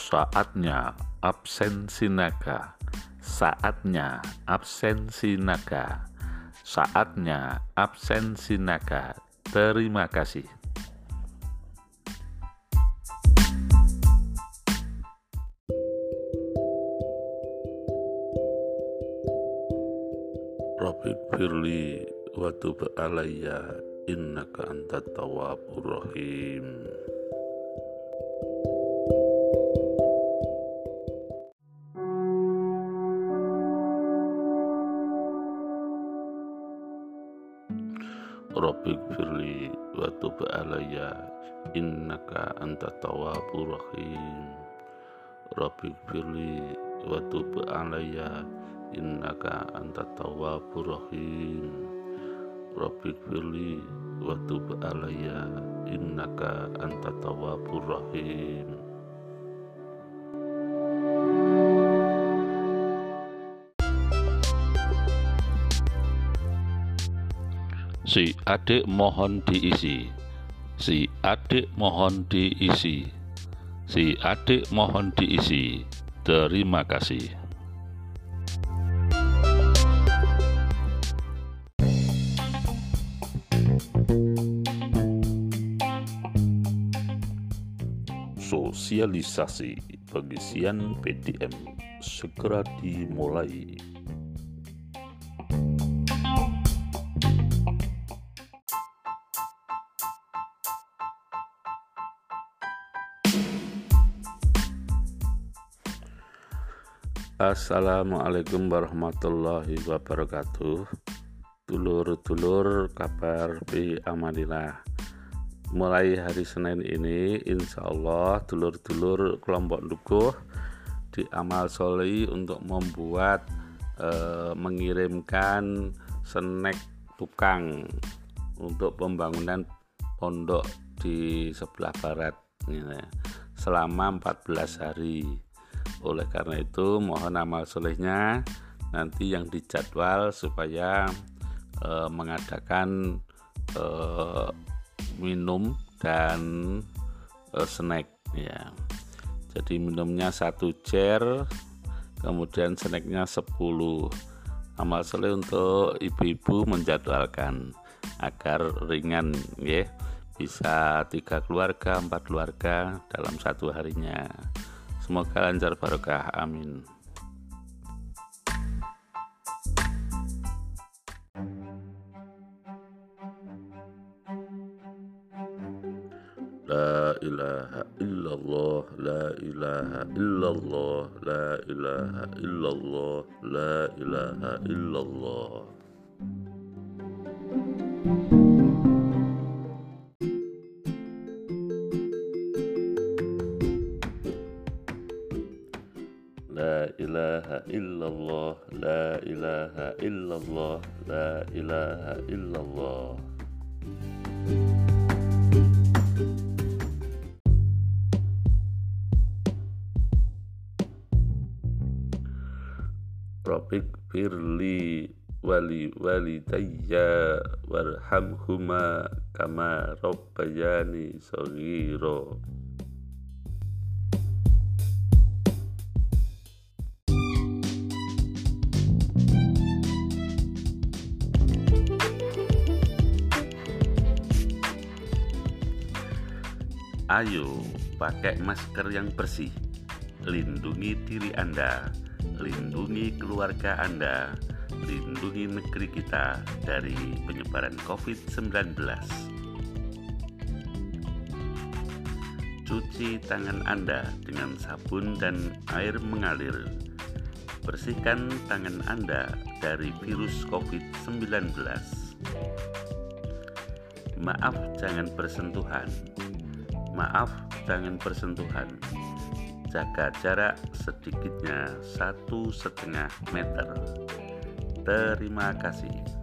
Saatnya absensi naga. Saatnya absensi naga. Saatnya absensi naga. Terima kasih. Rabbik firli wa tub alayya innaka antat tawwabur rahim. Rabbik firli wa tub alayya innaka antat tawwabur rahim. Rabbik firli wa tub alayya innaka antat tawwabur rahim. Rabbik firli wa tub alayya innaka antat tawwabur rahim. Si adik mohon diisi. Si adik mohon diisi. Si adik mohon diisi. Terima kasih. Sosialisasi pengisian PDM segera dimulai. Assalamualaikum warahmatullahi wabarakatuh. Dulur-dulur kabar bi amanillah. Mulai hari Senin ini insya Allah dulur-dulur kelompok dukuh di amal soleh untuk membuat mengirimkan snack tukang untuk pembangunan pondok di sebelah barat selama 14 hari. Oleh karena itu mohon amal solehnya nanti yang dijadwal supaya mengadakan minum dan snack ya. Jadi minumnya 1 cer, kemudian snacknya 10. Amal soleh untuk ibu-ibu menjadwalkan agar ringan ya. Bisa 3 keluarga, 4 keluarga dalam 1 harinya. Semoga lancar barokah, amin. La ilaha illallah, la ilaha illallah, la ilaha illallah, la ilaha illallah. La ilaha illallah, la ilaha illallah, la ilaha illallah. Rabbik firli wali walidayya warhamhuma kama rabbayani shaghira. Ayo pakai masker yang bersih, lindungi diri Anda, lindungi keluarga Anda, lindungi negeri kita dari penyebaran COVID-19. Cuci tangan Anda dengan sabun dan air mengalir. Bersihkan tangan Anda dari virus COVID-19. Maaf jangan bersentuhan. Maaf jangan bersentuhan. Jaga jarak sedikitnya 1,5 meter. Terima kasih.